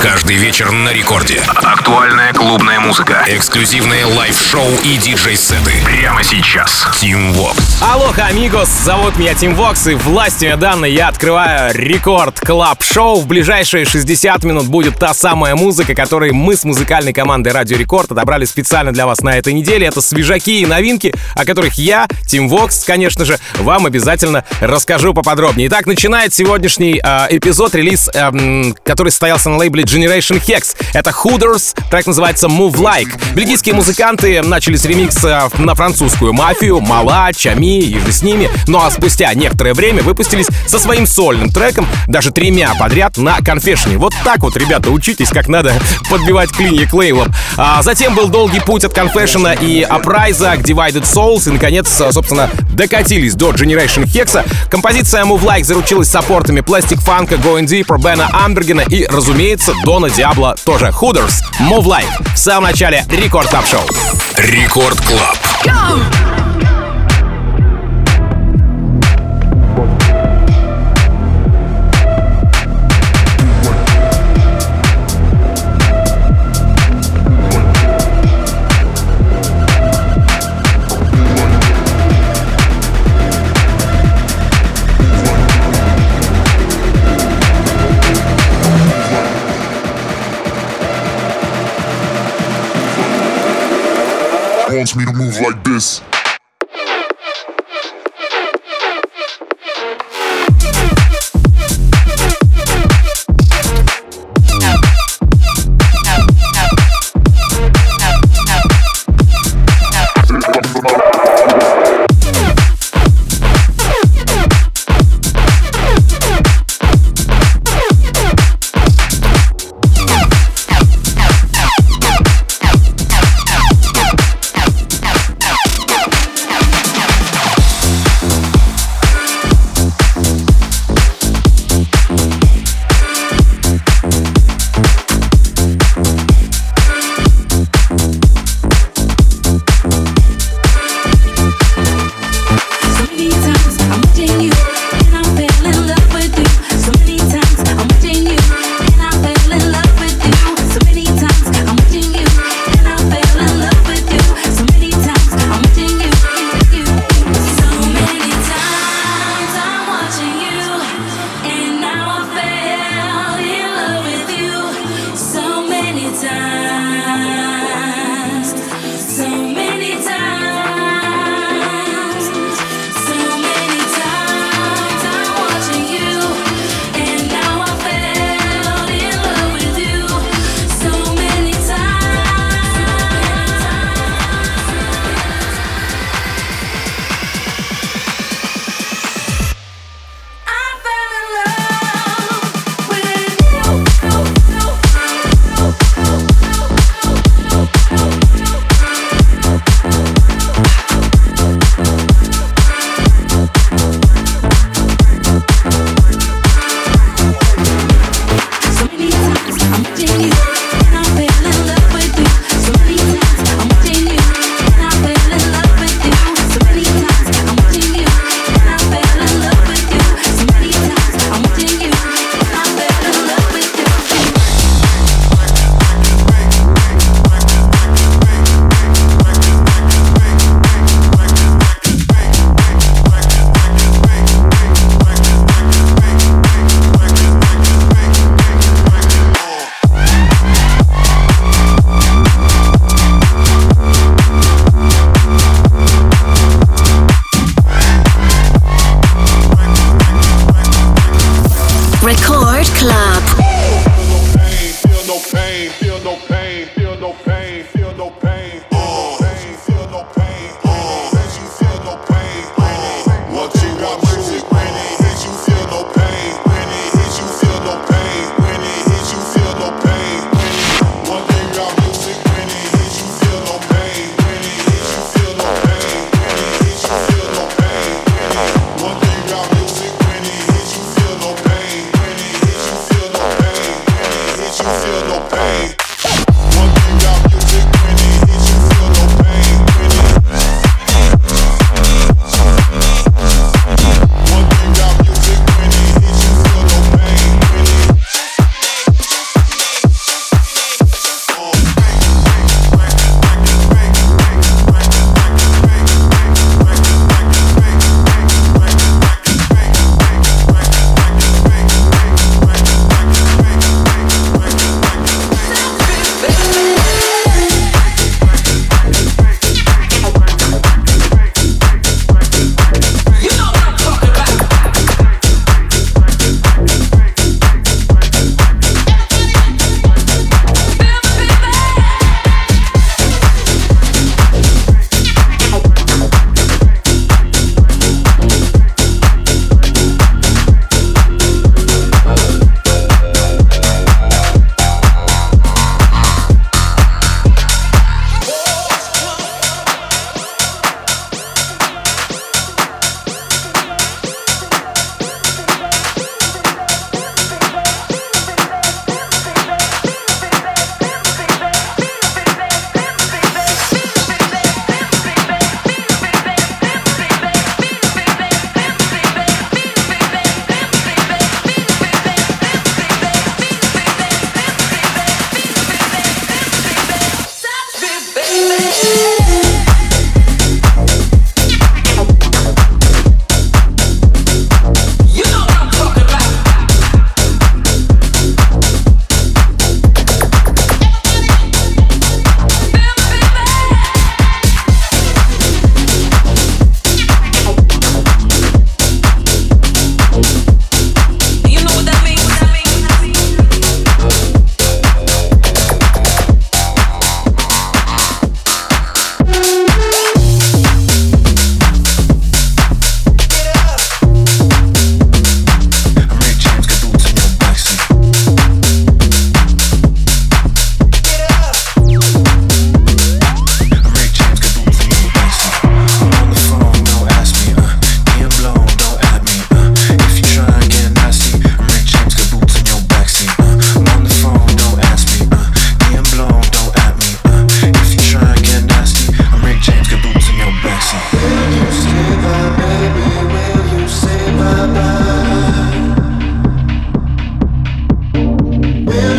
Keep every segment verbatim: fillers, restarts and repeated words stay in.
Каждый вечер на рекорде. Актуальная клубная музыка, эксклюзивные лайв-шоу и диджей-сеты. Прямо сейчас. Team Vox. Алоха, амигос, зовут меня Team Vox, и властью данной я открываю Рекорд Клаб Шоу. В ближайшие шестьдесят минут будет та самая музыка, которую мы с музыкальной командой Радио Рекорд отобрали специально для вас на этой неделе. Это свежаки и новинки, о которых я, Team Vox, конечно же, вам обязательно расскажу поподробнее. Итак, начинает сегодняшний э, эпизод, релиз, э, который состоялся на лейбле Generation Hex. Это Hooders, трек называется Move Like. Бельгийские музыканты начали с ремикса на французскую мафию, Мала, Чами и же с ними, ну а спустя некоторое время выпустились со своим сольным треком, даже тремя подряд на Confession. Вот так вот, ребята, учитесь, как надо подбивать клинья к лейблам. А затем был долгий путь от Confession и Uprise к Divided Souls, и, наконец, собственно, докатились до Generation Hex. Композиция Move Like заручилась саппортами Plastic Funk, Going Deeper, Бена Амбергена и, разумеется, Дона Диабло тоже. Hooders, Move Like. В самом начале Рекорд Клаб Шоу. Рекорд Клаб. Wants me to move like this.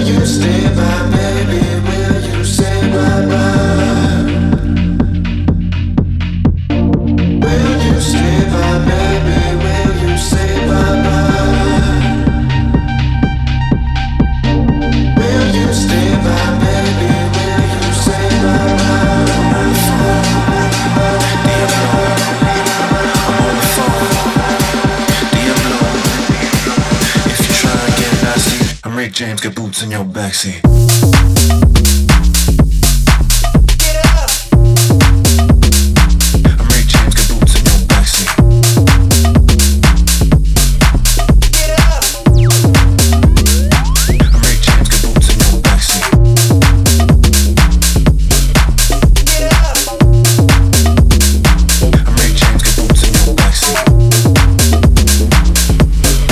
James, got boots in your backseat.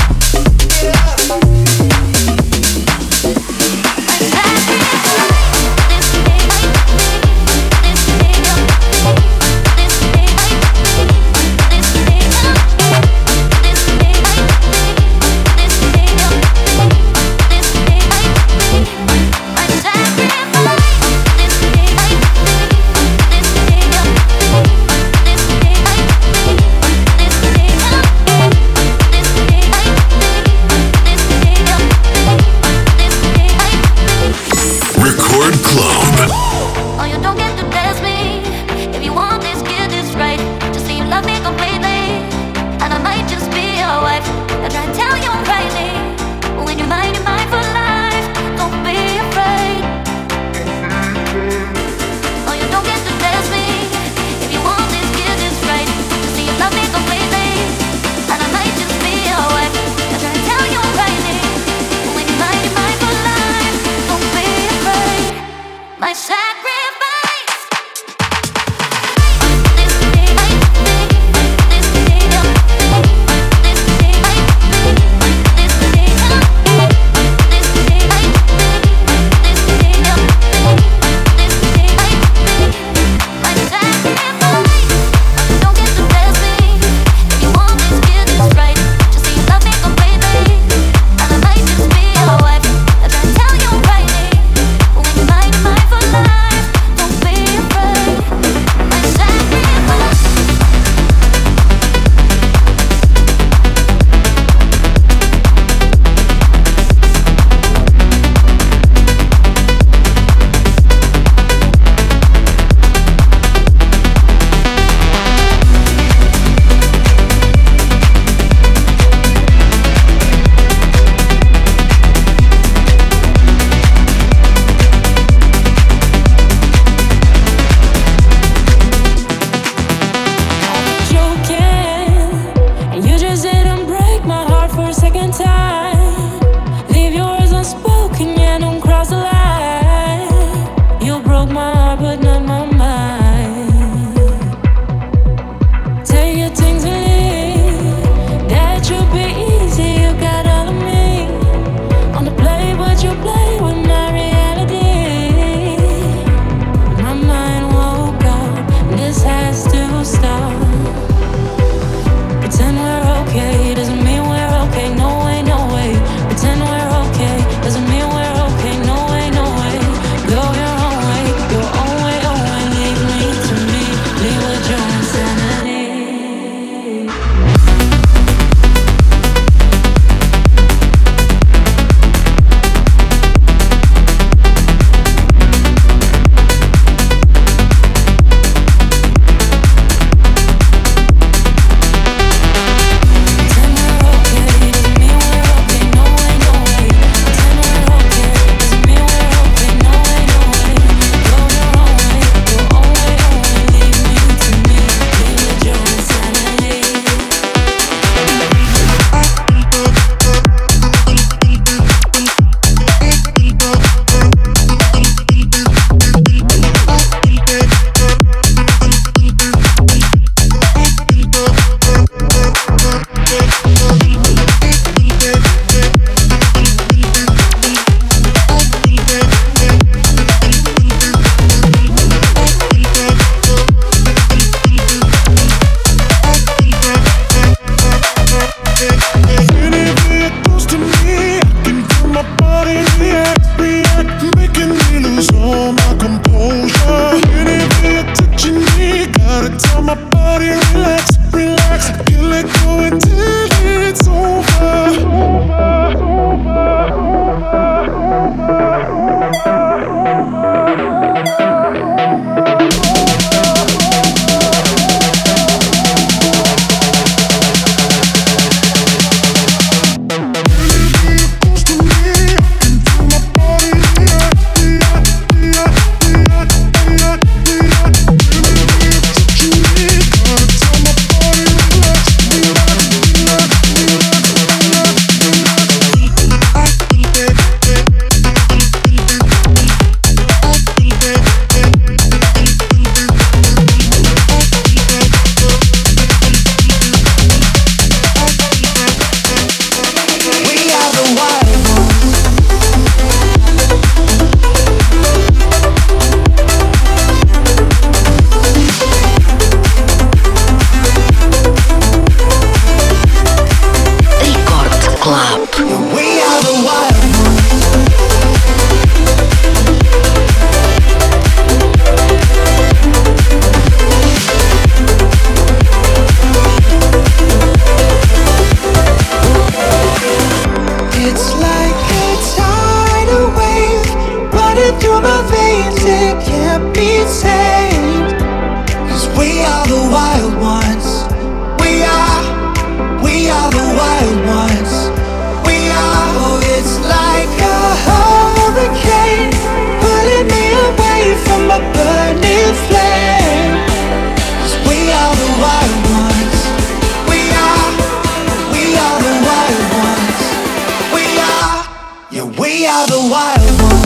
Back be tamed. 'Cause we are the wild ones. We are, we are the wild ones. We are, oh, it's like a hurricane pulling me away from a burning flame. 'Cause we are the wild ones. We are, we are the wild ones. We are, yeah, we are the wild ones.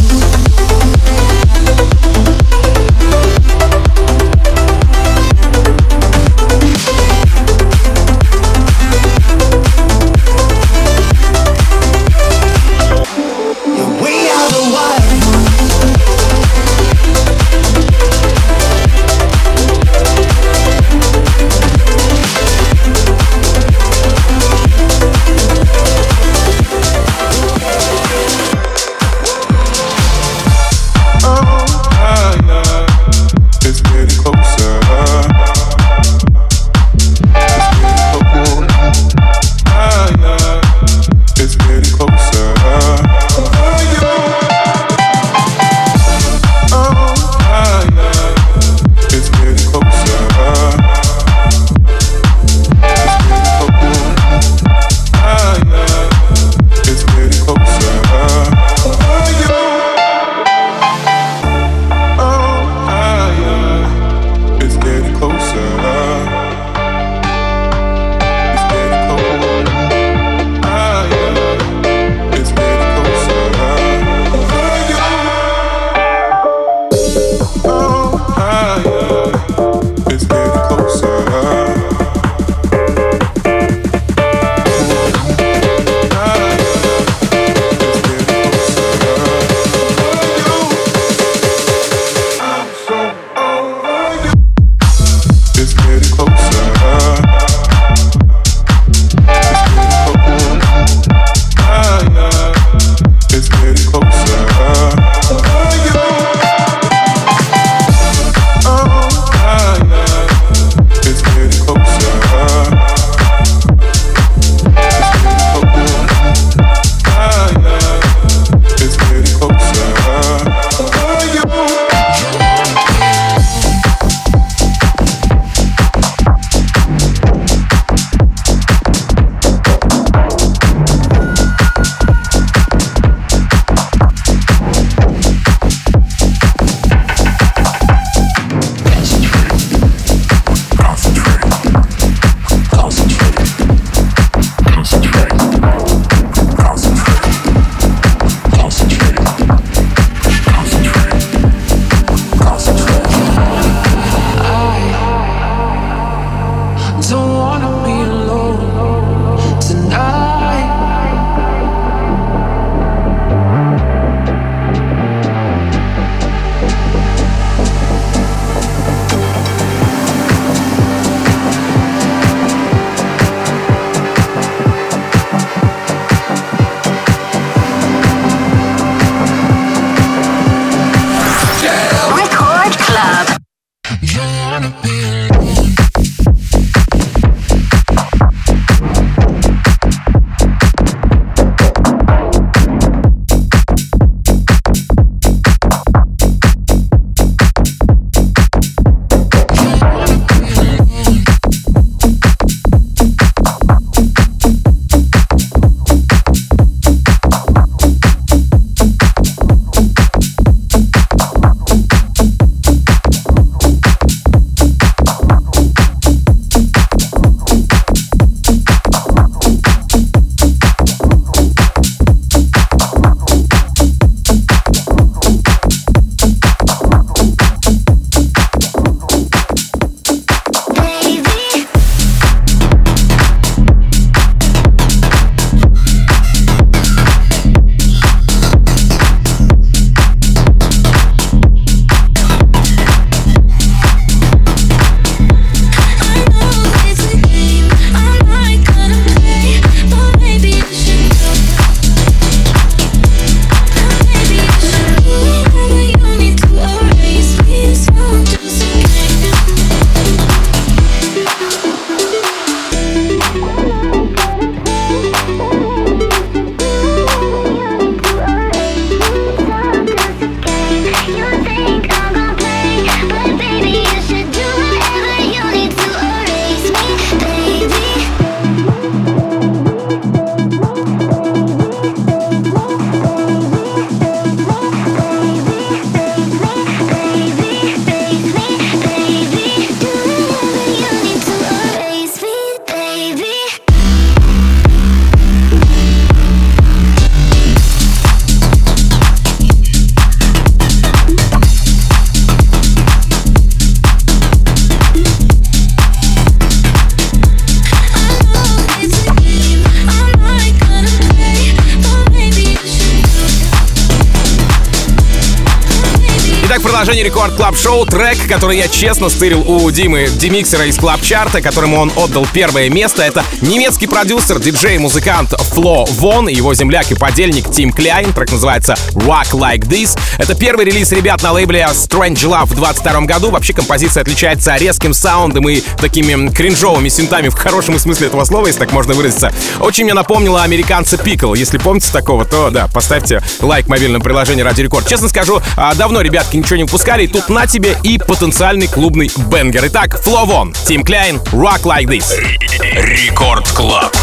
Итак, продолжение Рекорд Клаб Шоу. Трек, который я честно стырил у Димы Демиксера из Клаб Чарта, которому он отдал первое место. Это немецкий продюсер, диджей, музыкант Фло Вон, его земляк и подельник Тим Кляйн. Трек называется Rock Like This. Это первый релиз ребят на лейбле Strange Love в двадцать втором году. Вообще композиция отличается резким саундом и такими кринжовыми синтами в хорошем смысле этого слова, если так можно выразиться. Очень мне напомнила американца Пикл. Если помните такого, то да, поставьте лайк в мобильном приложении Радио Рекорд. Честно скажу, давно ребятки ничего не выпускали, и тут на тебе и потенциальный клубный бенгер. Итак, Фло Вон, Тим Кляйн, Rock Like This. Рекорд Клаб.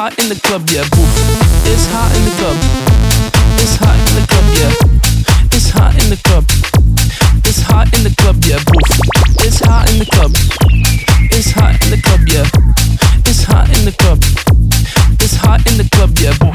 hot in the club, yeah, boo. It's hot in the club. It's hot in the club, yeah. It's hot in the club. It's hot in the club, yeah, boo. It's hot in the club. It's hot in the club, yeah. It's hot in the club. It's hot in the club, yeah, boo.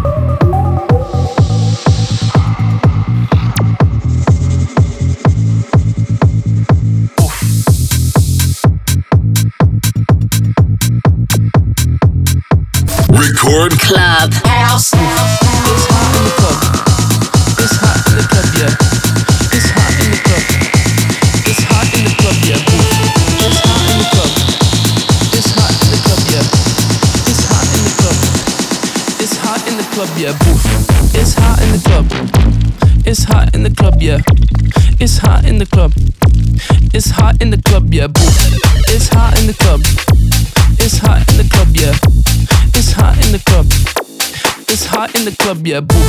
Record Club House. It's hot in the club. It's hot in the club, yeah. It's hot in the club. It's hot in the club, yeah. It's hot in the club. It's hot in the club, yeah. It's hot in the club. It's hot in the club, yeah. It's hot in the club. It's hot in the club, yeah. It's hot in the club. It's hot in the club, yeah. It's hot in the club. It's hot in the club, yeah. It's hot in the club. It's hot in the club, yeah, boo.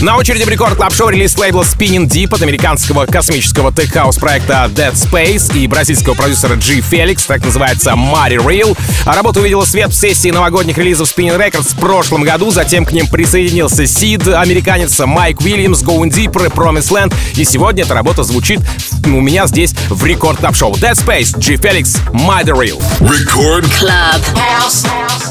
На очереди в Рекорд Клаб Шоу релиз лейбла Spinning Deep от американского космического тех-хаус проекта Dead Space и бразильского продюсера G Felix, так называется Mighty Real. Работа увидела свет в сессии новогодних релизов Spinning Records в прошлом году, затем к ним присоединился Сид, американец, Майк Уильямс, Going Deeper, Promised Land, и сегодня эта работа звучит у меня здесь в Рекорд Клаб Шоу. Dead Space, G Felix, Mighty Real. Record Club House.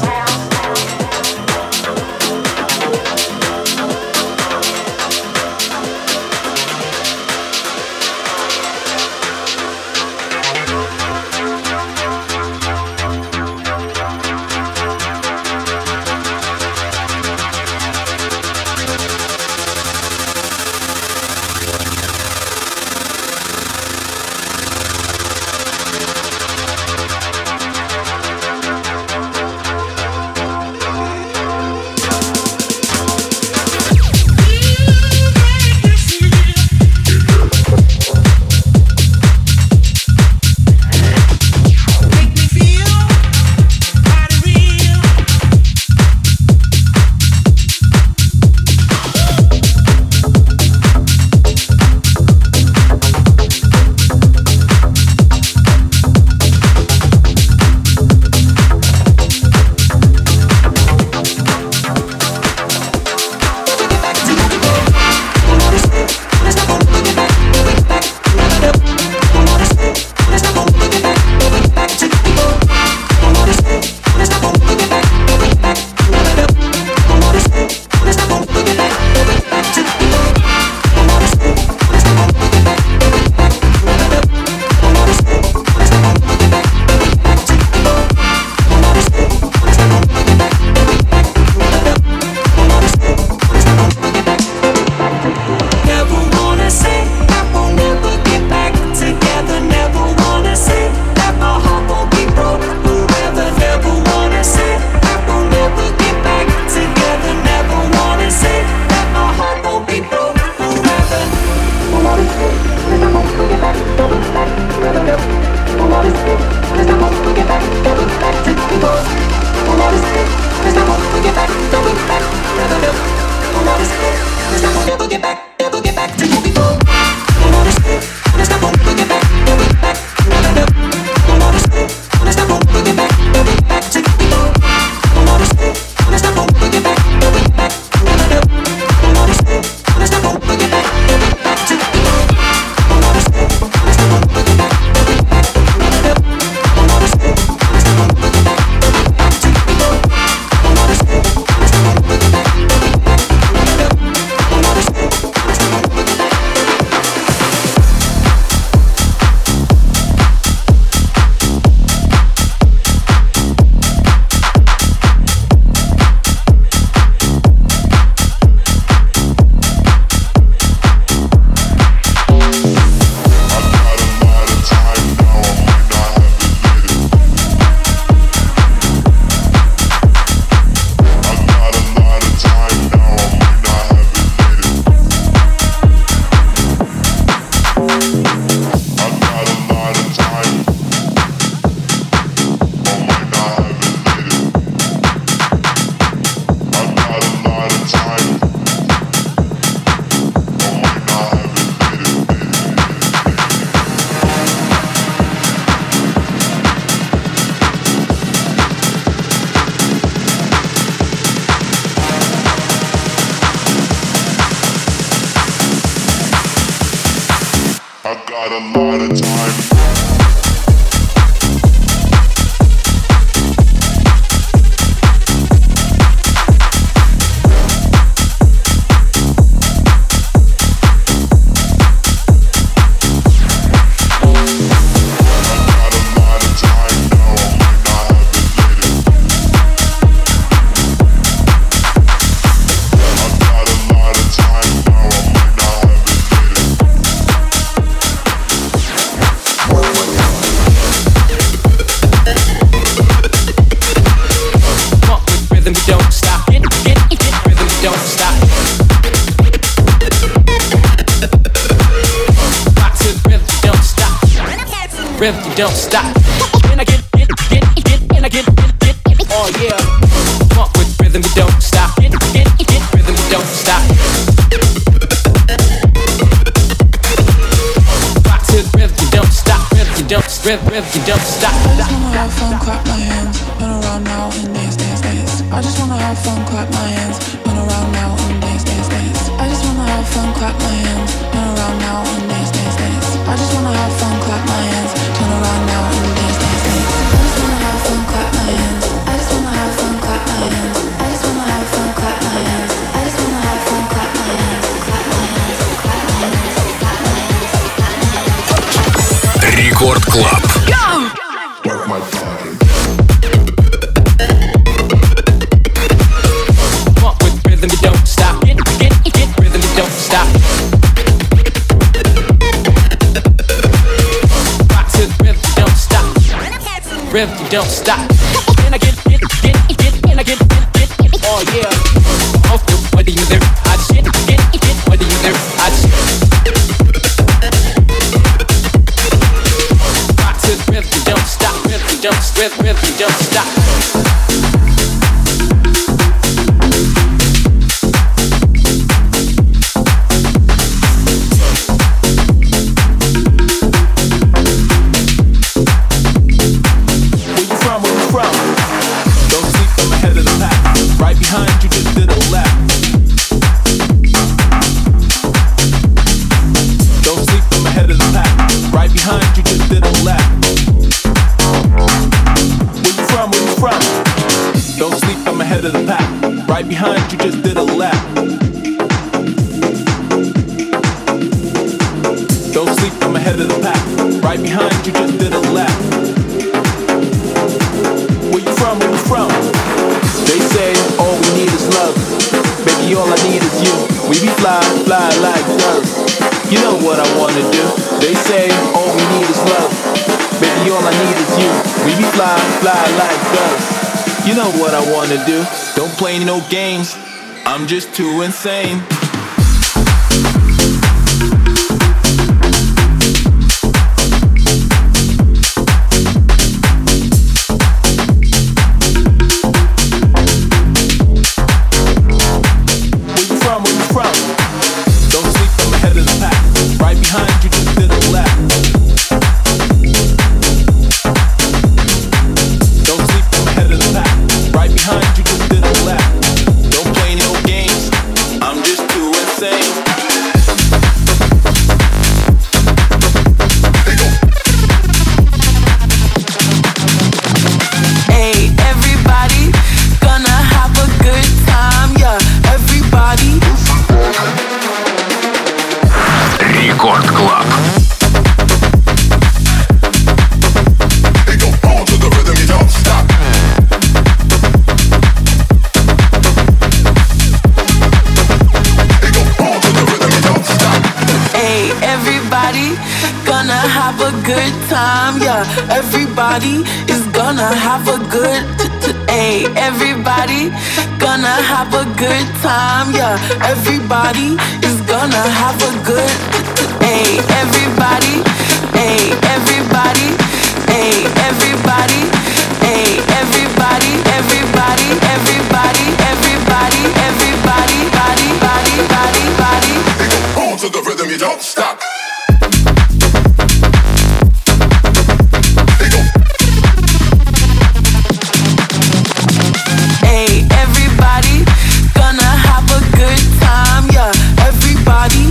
got a lot of time. Rhythm, you don't stop. And I get, get, get, get, and I get, get, get, oh yeah. Funk with rhythm, you don't stop. Get, get, get, rhythm, you don't stop. rev, rev, you don't stop. I just wanna have fun, clap my hands, run around now and dance, dance, dance. I just wanna have fun, clap my hands, run around now and dance, dance, dance. I just wanna have fun, clap my hands, run around now and dance, dance, dance. I just wanna have fun, clap my hands, turn around now and dance, dance, dance. I just wanna have fun, clap my hands. I just wanna have fun, clap my hands. I just wanna have fun, clap my hands. I just wanna have fun, clap my hands. Clap my hands, clap my hands, clap my hands, clap my hands. Рекорд Клаб. Work my body. Walk with rhythm, you don't stop. Get, get, get rhythm, you don't stop. Rock to the rhythm, you don't stop. Rhythm, you don't stop. Can I get, get, get, get, can I get, get, get, oh yeah. Oh, what do you there? I just get, get, get, what do you there? I just rock to the rhythm, you don't stop. Rhythm, you don't, rhythm, rhythm, you don't stop. Behind you just did a lap. Don't sleep, I'm ahead of the pack. Right behind you just did a lap. Where you from, where you from? They say all we need is love. Baby, all I need is you. We be fly, fly like doves. You know what I wanna do. They say all we need is love. Baby, all I need is you. We be fly, fly like doves. You know what I wanna do. Don't play no games, I'm just too insane. Where you from, where you from? Don't sleep, I'm ahead of the pack. Right behind you, just did a lap. Don't sleep, I'm ahead of the pack. Right behind you, just did a lap. Don't play no games, I'm just too insane. Hey, everybody, gonna have a good time, yeah, everybody. Рекорд Клаб. They go on to the rhythm, you don't stop. They go on to the rhythm, you don't stop. Hey, everybody, gonna have a good time, yeah, everybody is gonna have a good t- t- hey, everybody, gonna have a good time, yeah, everybody is gonna have a good t- t- hey, everybody, hey, everybody, hey, everybody, hey, everybody, everybody, everybody, everybody, everybody, body, body, body, body. They go on to the rhythm, you don't stop. They go. Hey, everybody, gonna have a good time, yeah, everybody.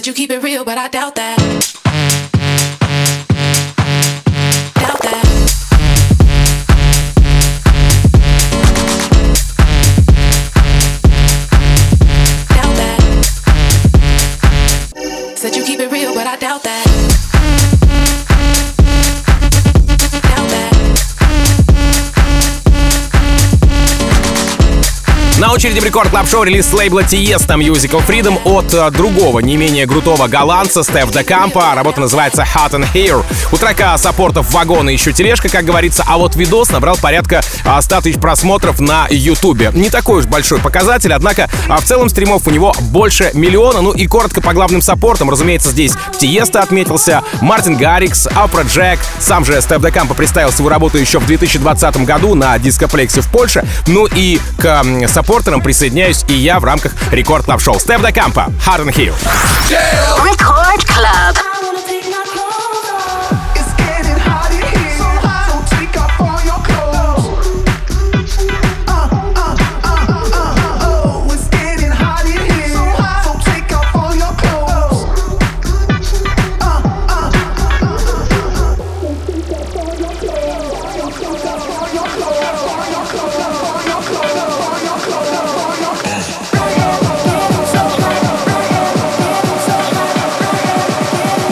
Said you keep it real, but I doubt that. Doubt that. Doubt that. Said you keep it real, but I doubt that. На очереди в Рекорд Клаб Шоу релиз с лейбла Tiesto Musical Freedom от uh, другого, не менее крутого голландца Стеф де Кампа. Работа называется Hot and Here. У трека саппортов вагон и еще тележка, как говорится, а вот видос набрал порядка uh, сто тысяч просмотров на Ютубе. Не такой уж большой показатель, однако uh, в целом стримов у него больше миллиона. Ну и коротко по главным саппортам. Разумеется, здесь Tiesto отметился, Мартин Гаррикс, Афроджек. Сам же Стеф де Кампа представил свою работу еще в две тысячи двадцатом году на дископлексе в Польше. Ну и к uh, саппортам присоединяюсь и я в рамках Рекорд Клаб Шоу. Стеф де Кампа, Hot and Here. Record Club. Get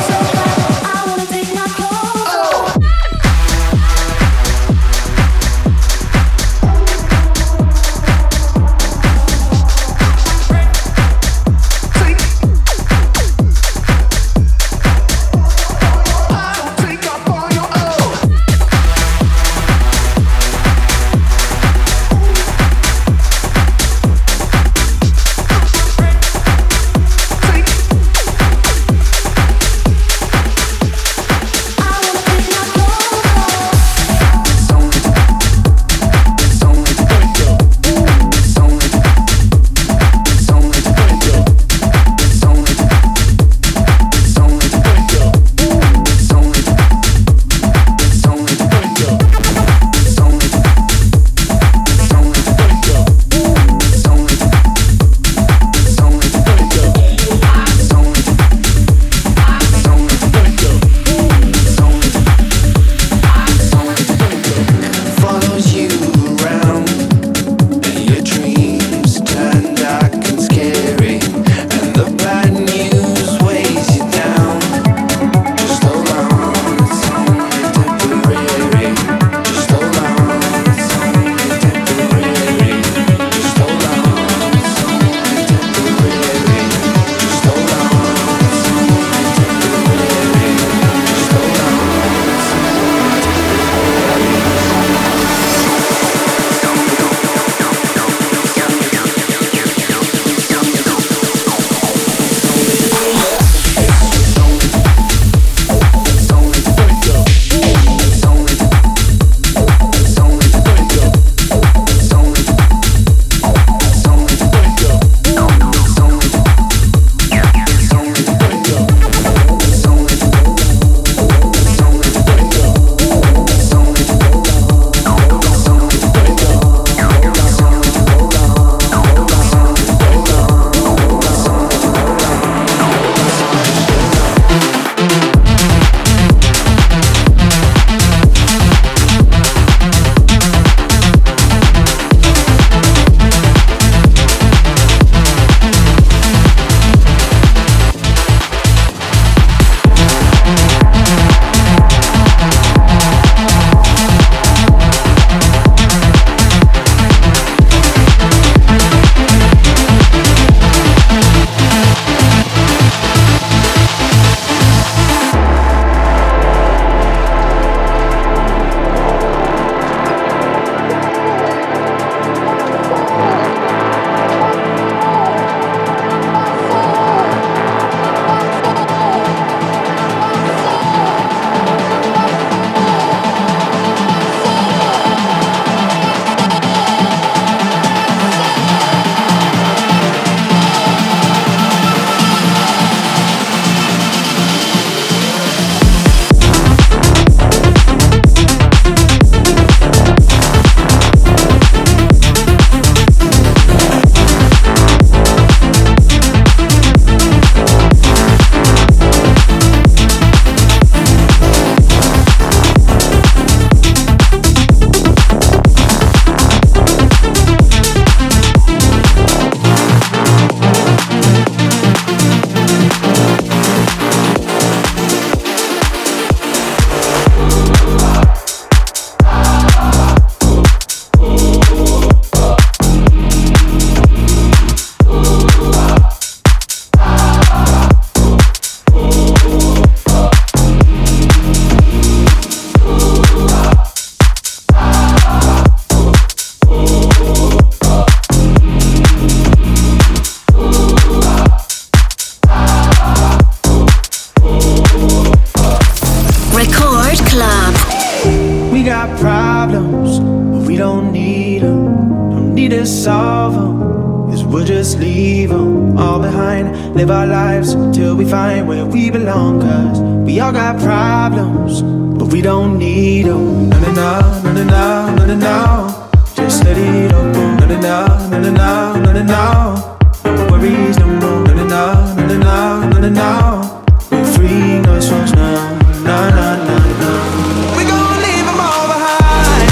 don't need them, don't need to solve them, 'cause we'll just leave them all behind. Live our lives till we find where we belong, 'cause we all got problems, but we don't need them. No, no, no, no, no, no, no, no. Just let it all go. No, no, no, no, no, no, no, no, no. No worries no more. No, no, no, no, no, no, no, no. We're free, no songs now. No, no, no, no. We gon' leave them all behind.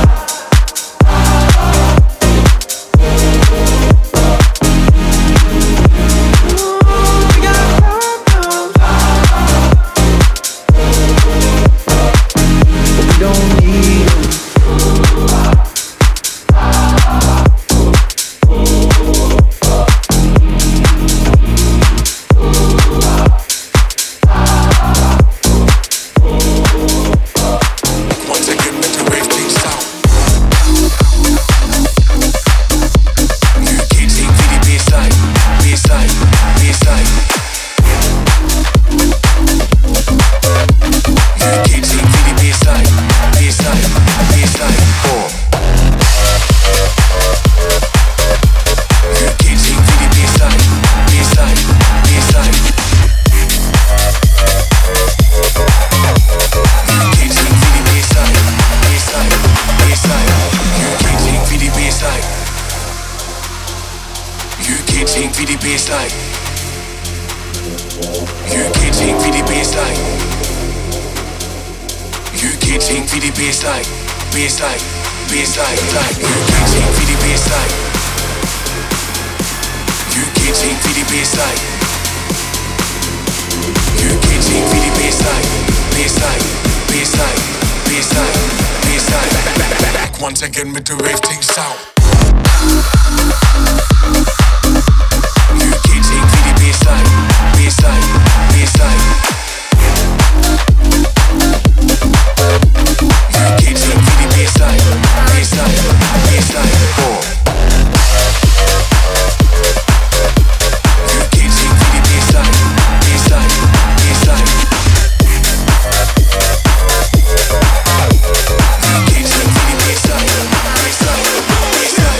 Ooh, we got problems, but we don't need them. Once again with the rave things out. You can't take me the baseline, baseline, baseline. You can't take me the baseline, baseline, baseline. You can't take me the baseline, baseline, baseline. You can't take me the baseline, baseline, baseline.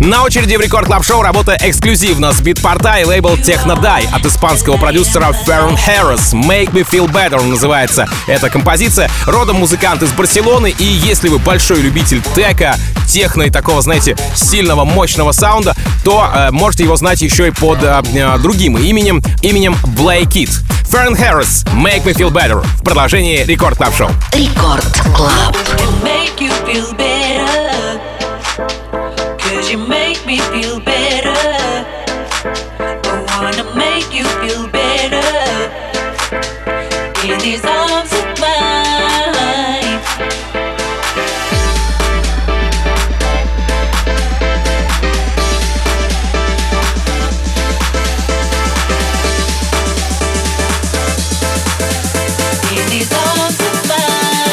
На очереди в Рекорд Клаб Шоу работа эксклюзивно с битпорта и лейбл Technoday от испанского продюсера Ферран Харрис. Make Me Feel Better называется эта композиция. Родом музыкант из Барселоны, и если вы большой любитель тека, техно и такого, знаете, сильного, мощного саунда, то э, можете его знать еще и под э, э, другим именем, именем Blake Kid. Ферран Харрис, Make Me Feel Better в продолжении Рекорд Клаб Шоу. Рекорд Клаб. Make you feel better, 'cause you make me feel better. I wanna make you feel better in these arms of mine. In these arms of mine.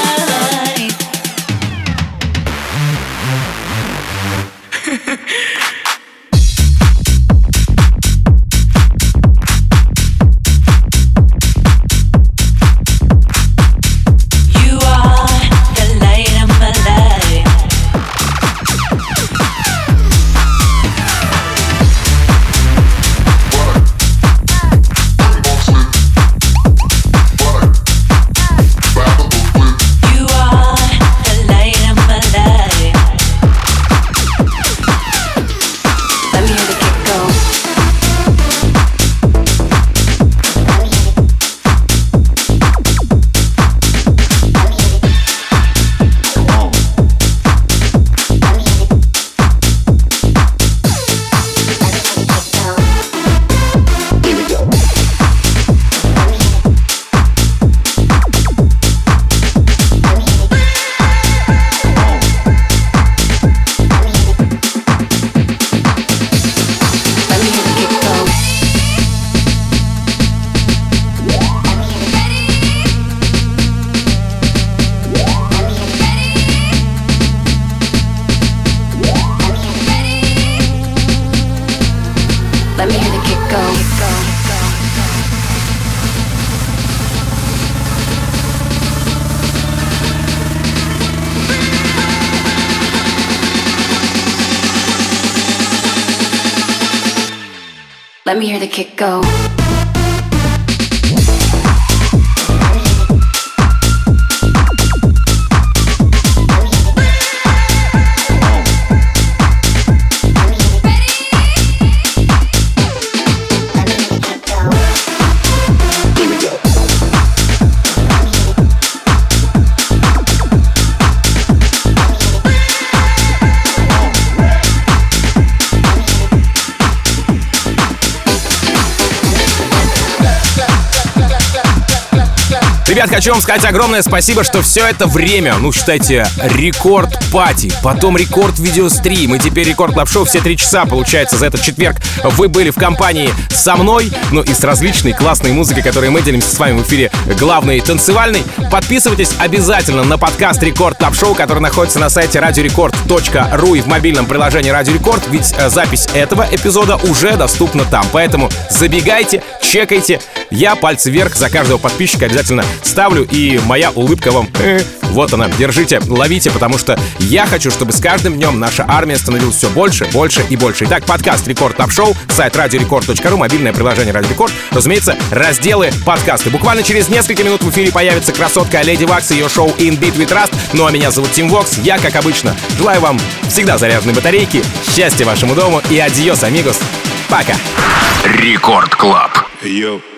Let me hear the kick go. Ребят, хочу вам сказать огромное спасибо, что все это время, ну, считайте, рекорд-пати, потом рекорд-видеострим, и теперь Рекорд Клаб Шоу все три часа, получается, за этот четверг вы были в компании со мной, ну и с различной классной музыкой, которой мы делимся с вами в эфире главной танцевальной. Подписывайтесь обязательно на подкаст Рекорд Клаб Шоу, который находится на сайте радиорекорд точка ру и в мобильном приложении Радио Рекорд, ведь запись этого эпизода уже доступна там, поэтому забегайте, чекайте. Я пальцы вверх за каждого подписчика обязательно ставлю, и моя улыбка вам, э, вот она, держите, ловите, потому что я хочу, чтобы с каждым днем наша армия становилась все больше, больше и больше. Итак, подкаст Рекорд Клаб Шоу, сайт радиорекорд точка ру, мобильное приложение Радио Рекорд, разумеется, разделы подкасты. Буквально через несколько минут в эфире появится красотка Леди Вакс и ее шоу In Beat with Rust. Ну а меня зовут Тим Вокс, я, как обычно, желаю вам всегда заряженной батарейки, счастья вашему дому и адьос, амигос. Пока. Рекорд Клаб. Hey, yo.